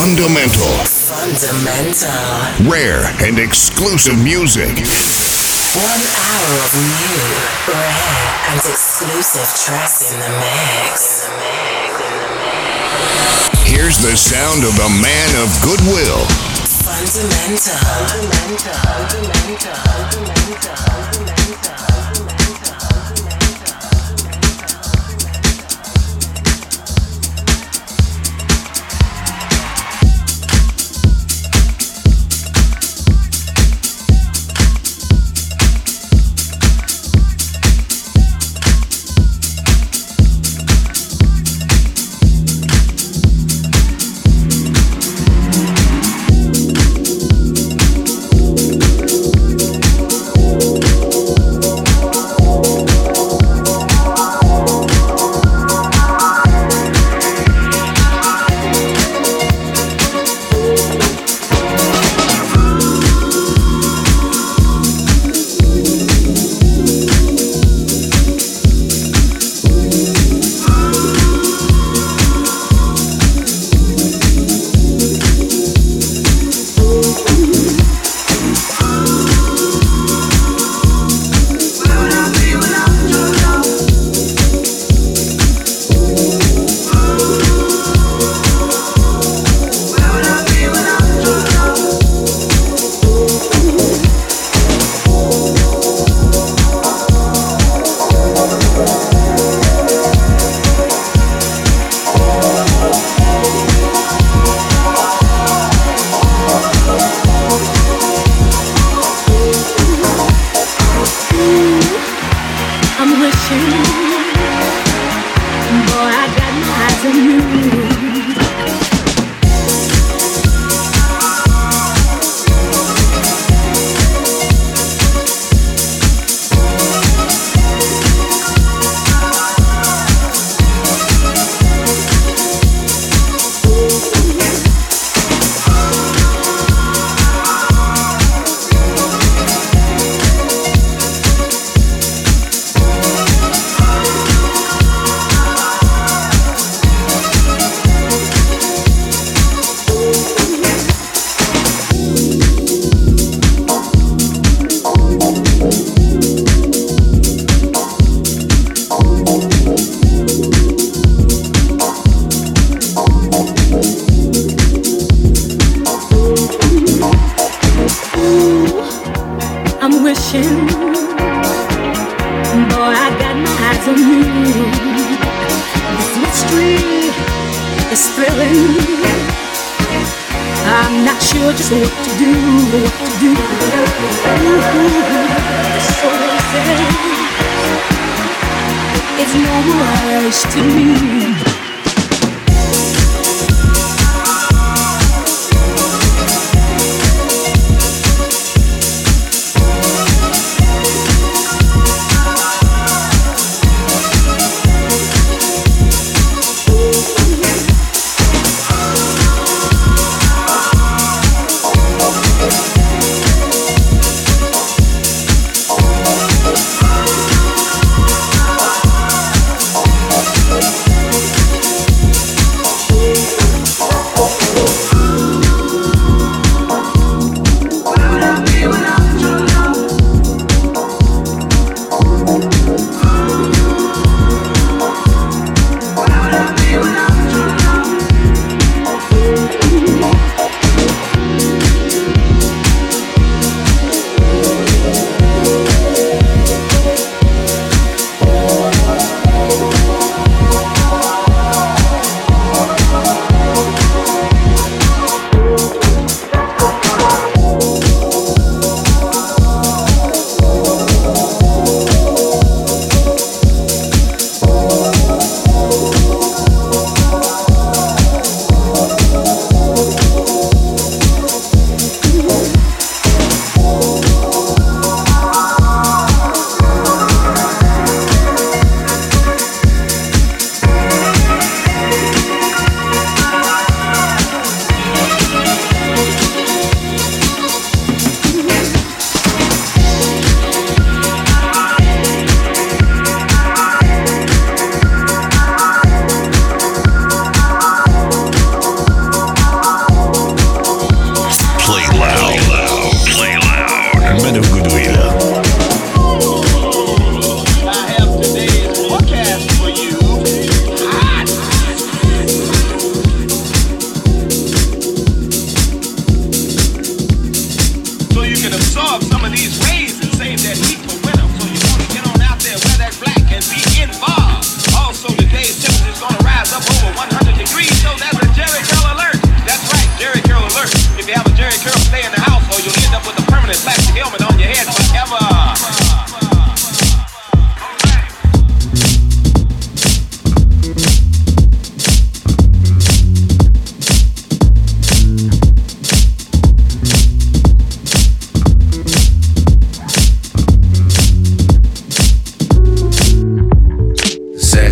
Fundamental. Fundamental. Rare and exclusive music. 1 hour of new, rare and exclusive tracks in the mix. Here's the sound of the man of goodwill. Fundamental.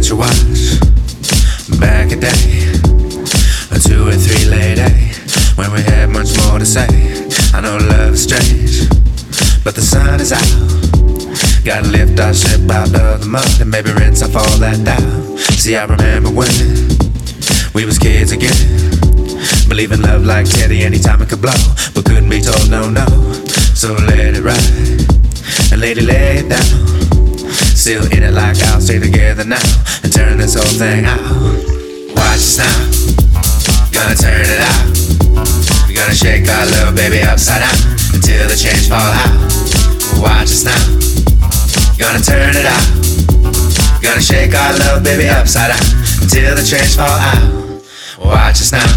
let you watch. Back a day, or 2 or 3 late day, when we had much more to say. I know love is strange, but the sun is out. Gotta lift our ship out of the mud and maybe rinse off all that doubt. See, I remember when we was kids again, believe in love like Teddy anytime it could blow, but couldn't be told no, no. So let it ride, and lady lay it down. Still in it like I'll stay together now and turn this whole thing out. Watch us now, gonna turn it out. We're gonna shake our love baby upside down until the change fall out. Watch us now, gonna turn it out. Gonna shake our love baby upside down until the change fall out. Watch us now.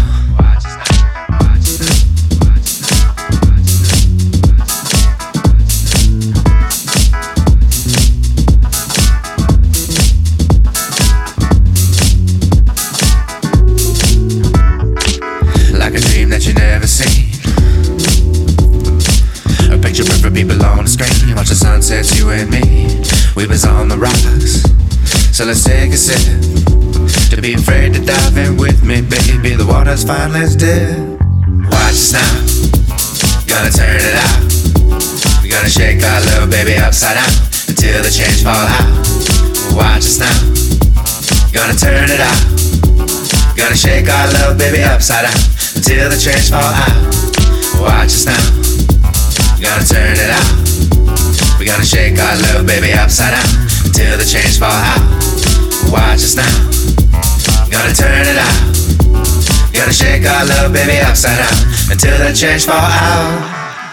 People on the screen, watch the sunsets, you and me. We was on the rocks, so let's take a sip. Don't be afraid to dive in with me, baby. The water's fine, let's dip. Watch us now, gonna turn it out. We're gonna shake our little baby upside down until the change fall out. Watch us now, gonna turn it out. Gonna shake our little baby upside down until the change fall out. Watch us now, gonna turn it out. We gotta shake our little baby upside down until the change fall out. Watch us now, gonna turn it out. Gotta shake our little baby upside down until the change fall out.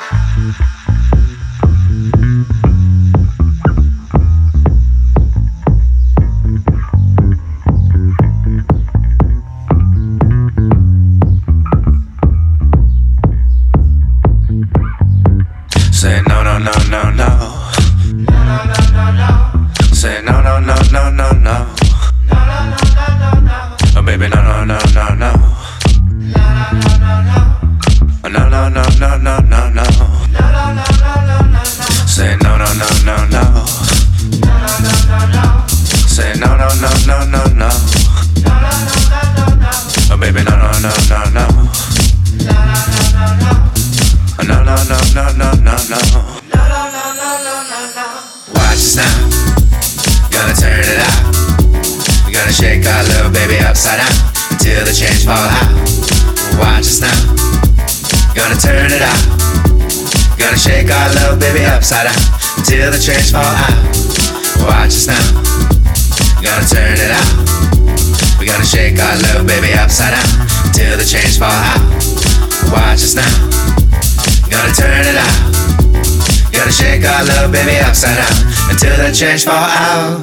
Say no, no, no, no, no. Say no, no, no, no, no, no. Oh baby, no, no, no, no, no. Oh no, no, no, no, no, no, no. Say no, no, no, no, no. Say no, no, no, no, no, no. Oh baby, no, no, no, no, no. No, no, no, no, no, no, no. Watch us now, gonna turn it out. We gotta shake our little baby upside down until the change fall out. Watch us now, gonna turn it out. Gonna shake our little baby upside down until the change fall out. Watch us now, gonna turn it out. We gotta shake our little baby upside down until the change fall out. Watch us now, gonna turn it out. Gotta shake our little baby upside down until the change fall out.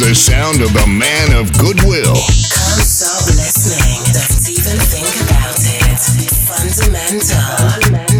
the sound of the man of goodwill. Can't stop listening, don't even think about it. Fundamental.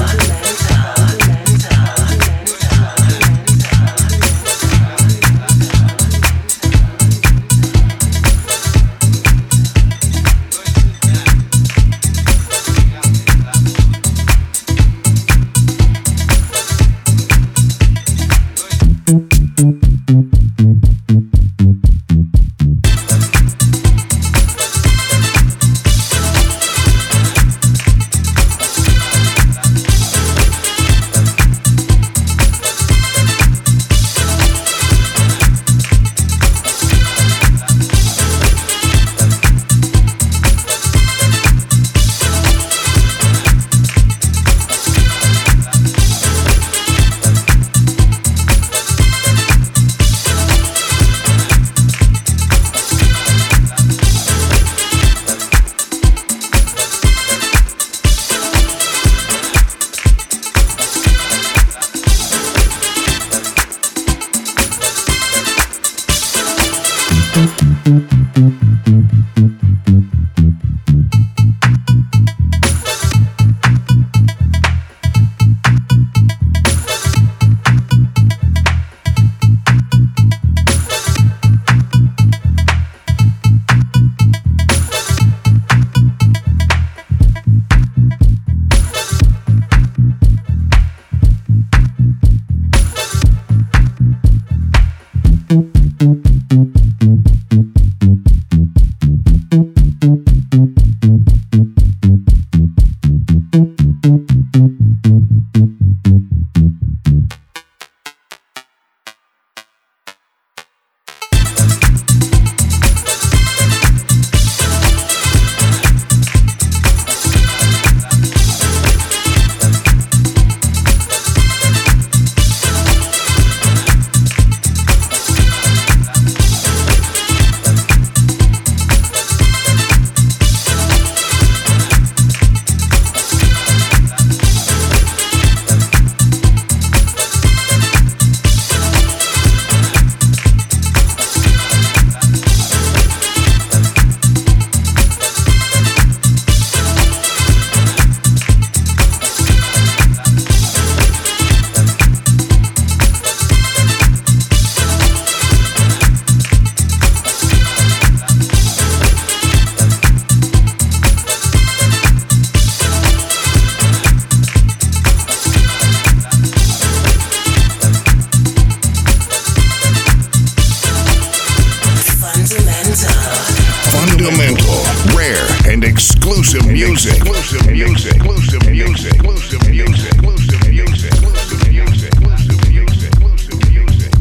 Fundamental, rare and exclusive music. Exclusive music. Exclusive music. Exclusive music. Exclusive music. Exclusive music. Exclusive music. Exclusive music.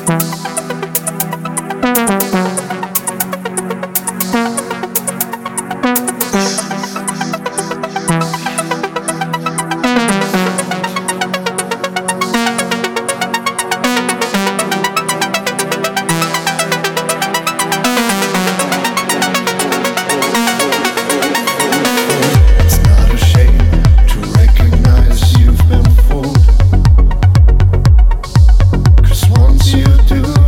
Once you do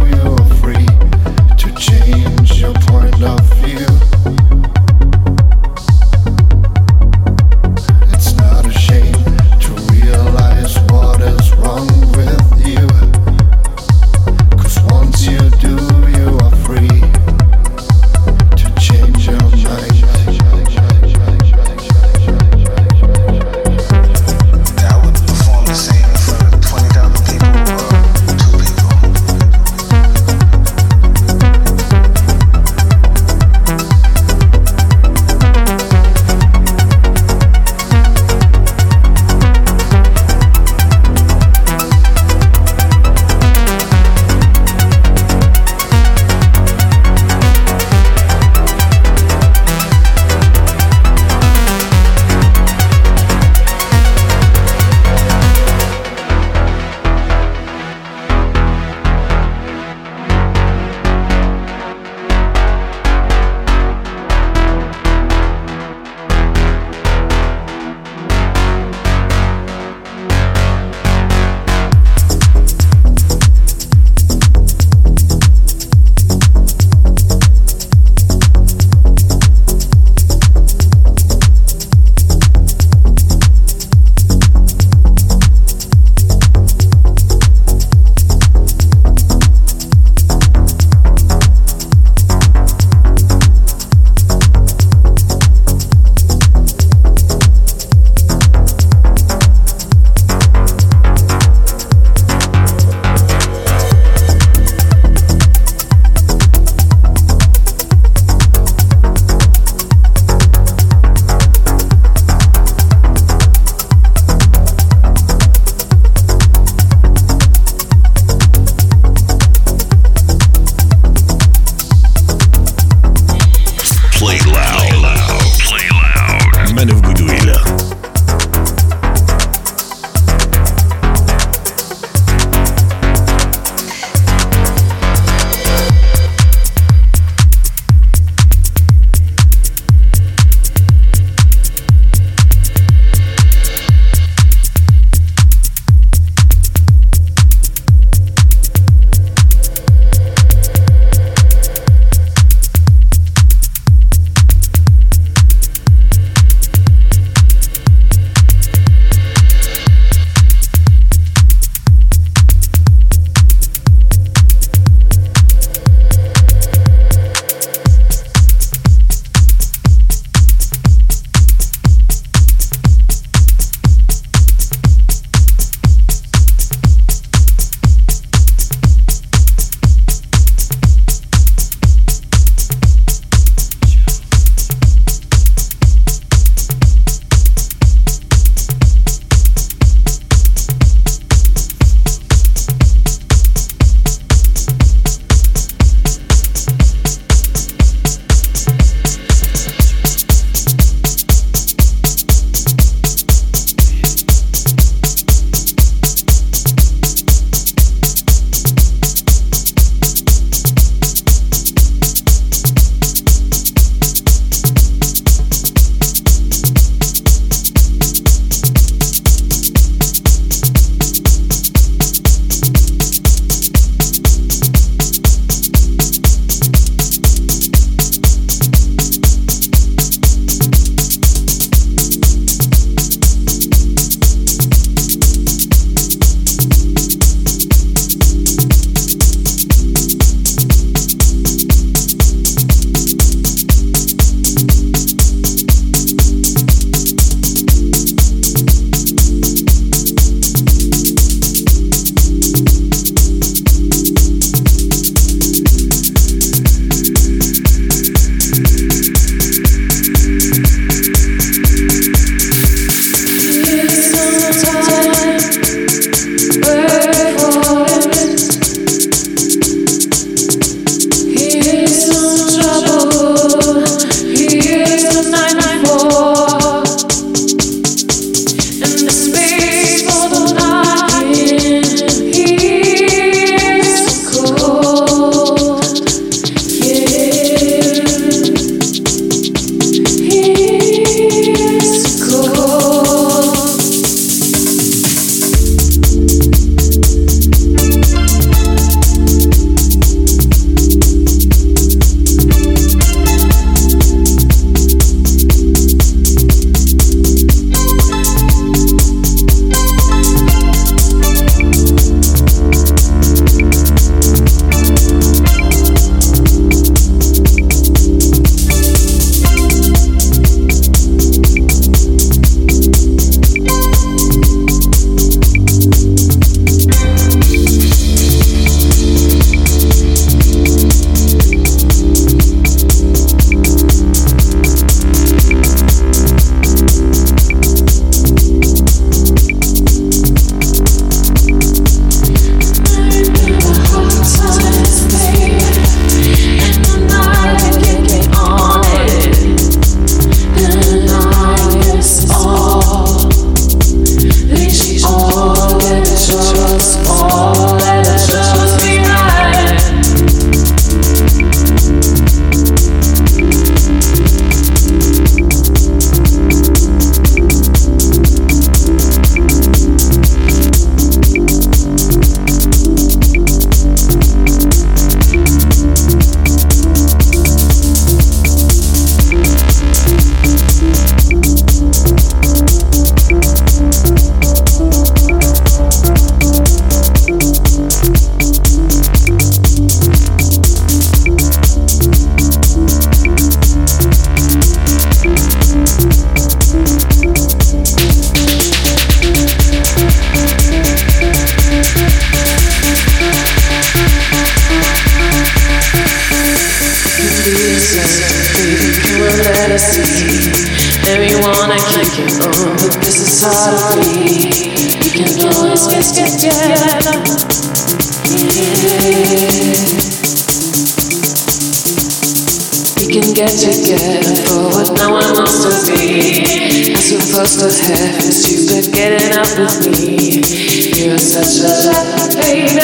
see. Everyone keep it on, but this is hard to be. We can always get together. We can get together for what no one wants to be. I'm supposed to have stupid getting up with me. You're such a lucky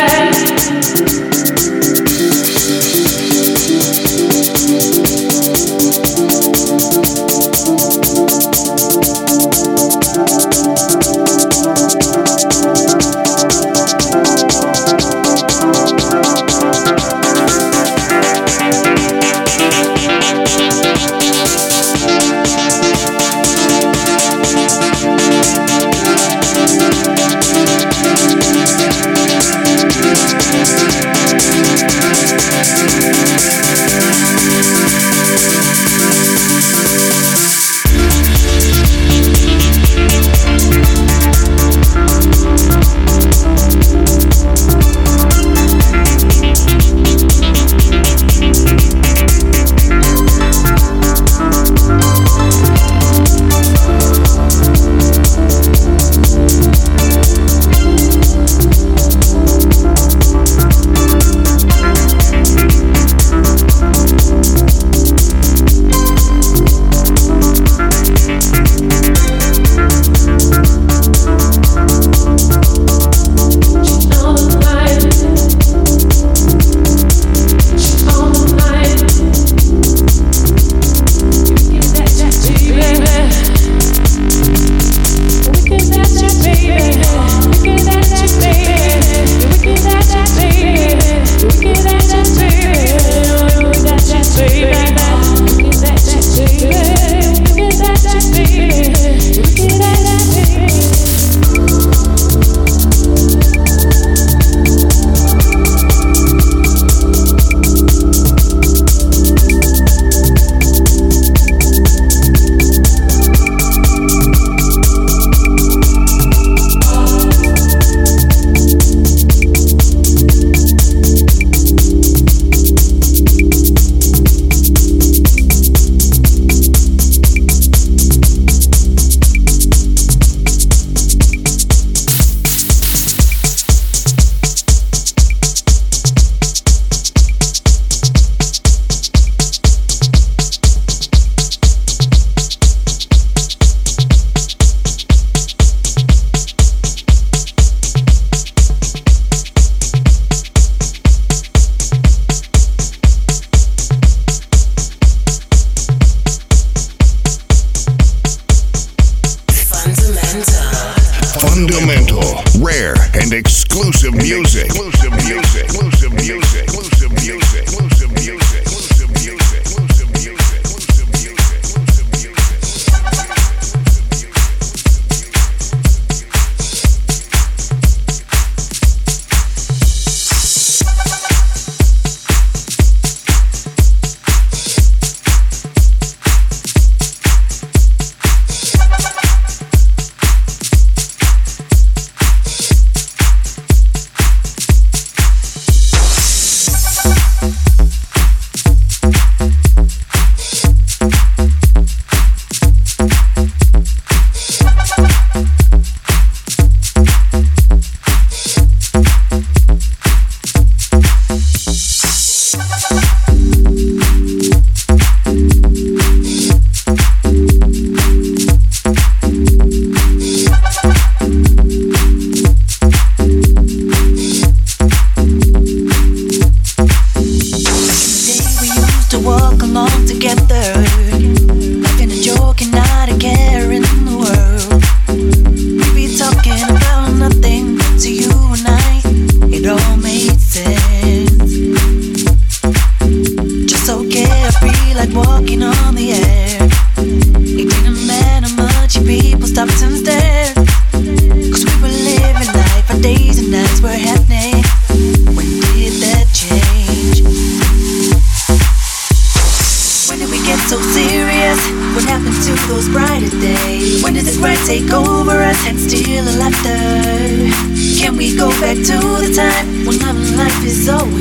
baby.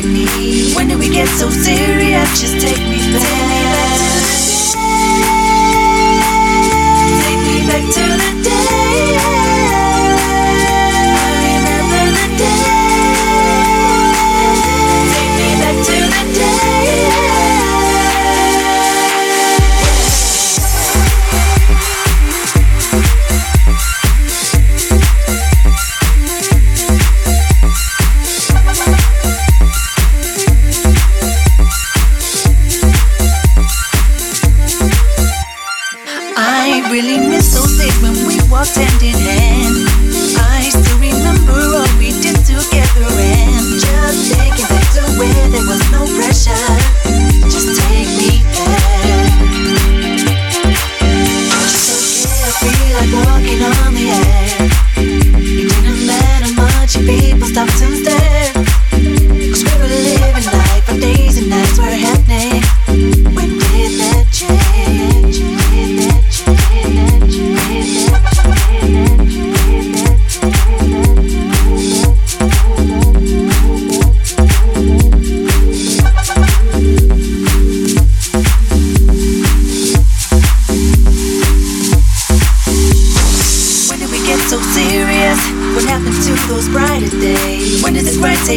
When did we get so serious? Just take me back.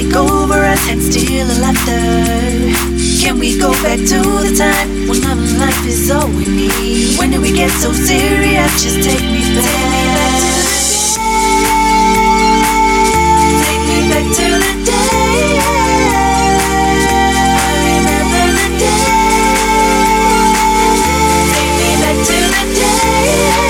take over us and steal our laughter? Can we go back to the time when love and life is all we need? When did we get so serious? Just take me back. Take me back to the day. I remember the day. Take me back to the day.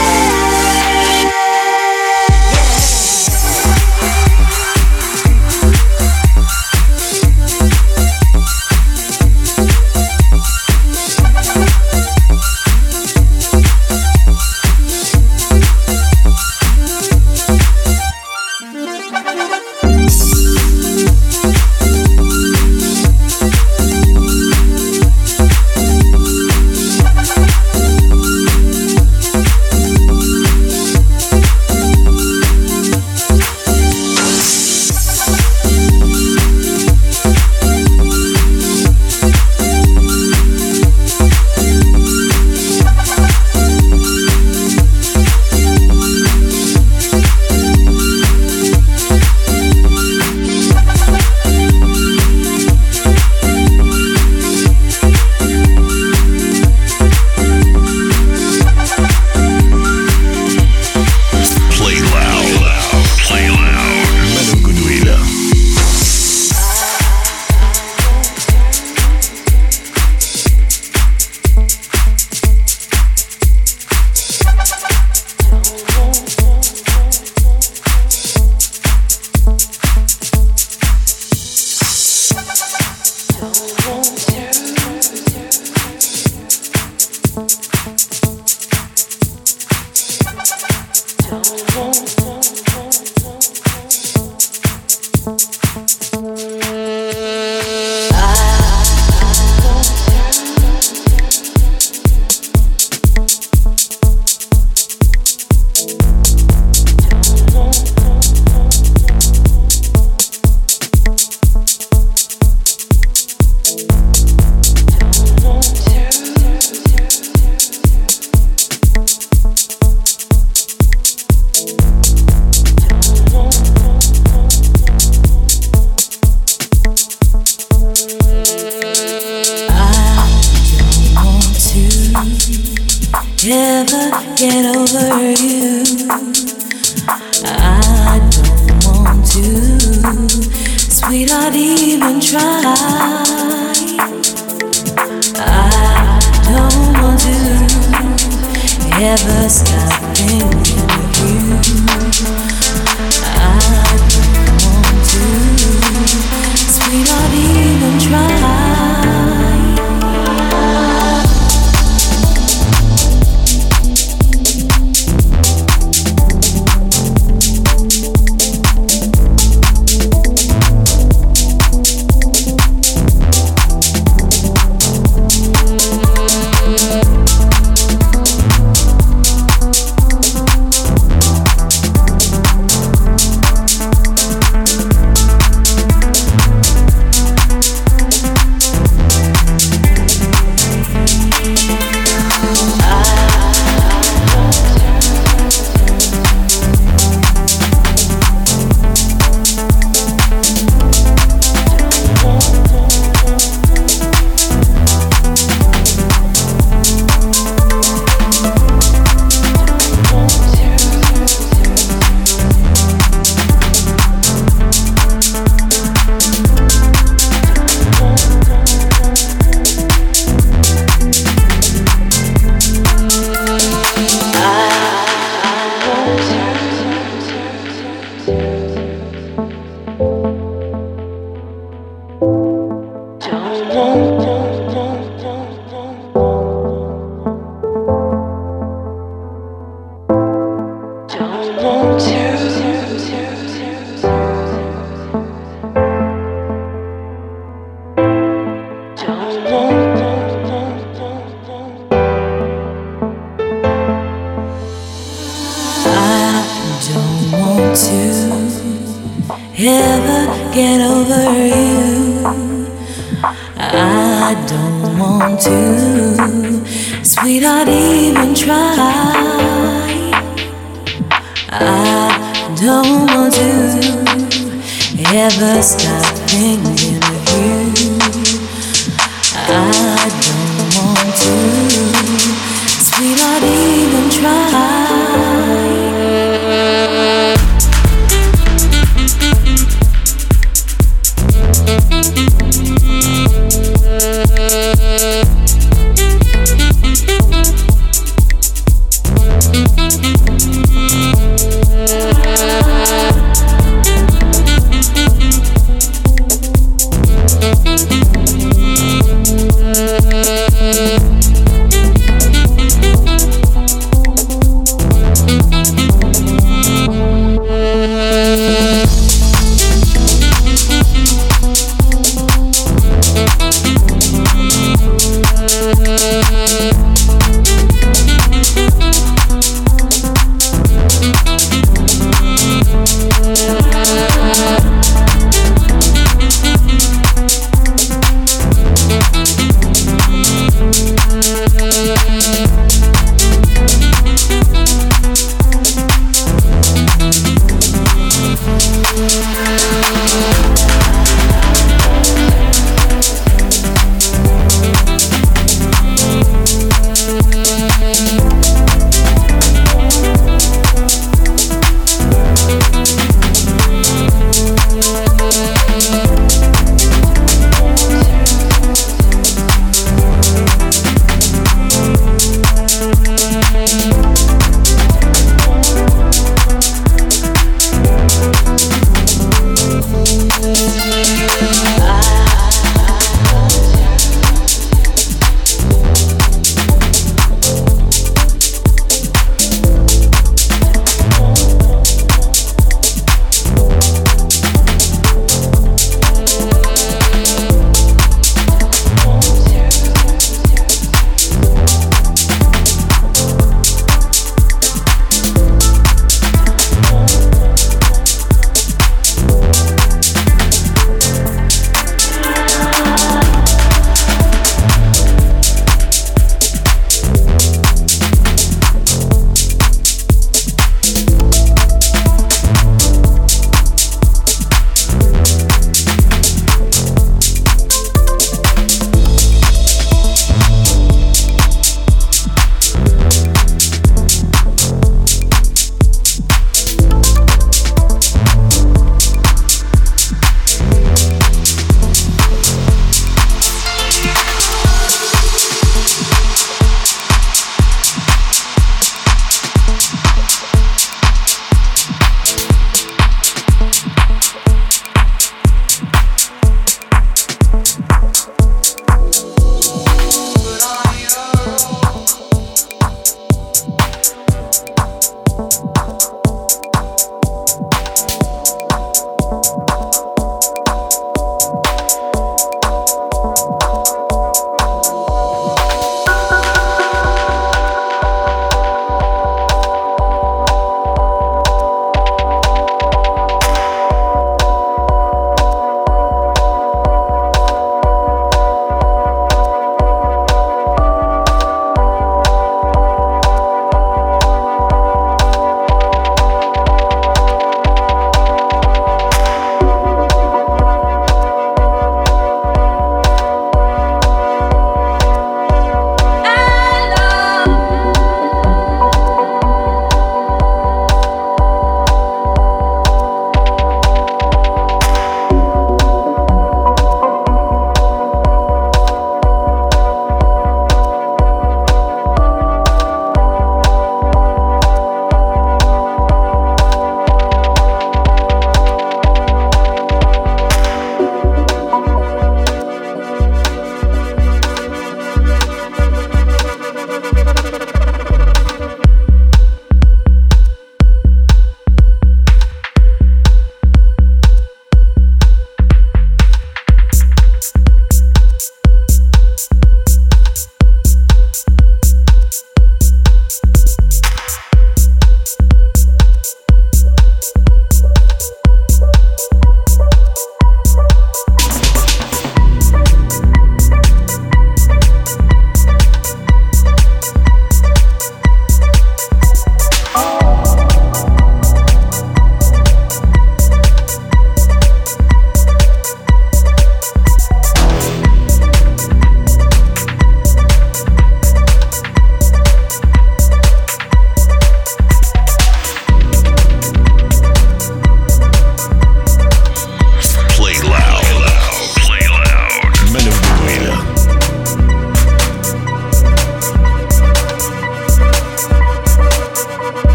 Never get over you. I don't want to, sweetheart, even try. I don't want to ever stop thinking of you. I don't want to, sweetheart, even try. Ever get over you. I don't want to, sweetheart, even try. I don't want to ever stop thinking of you. I don't want to, sweetheart, even try.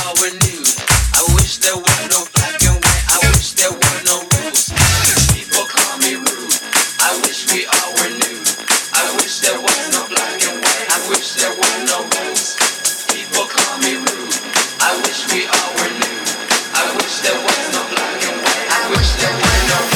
all were nude. I wish there were no black and white. I wish there were no rules. People call me rude. I wish we all were nude. I wish there was no black and white. I wish there were no rules. People call me rude. I wish we all were nude. I wish there was no black and white. I wish there were no rules.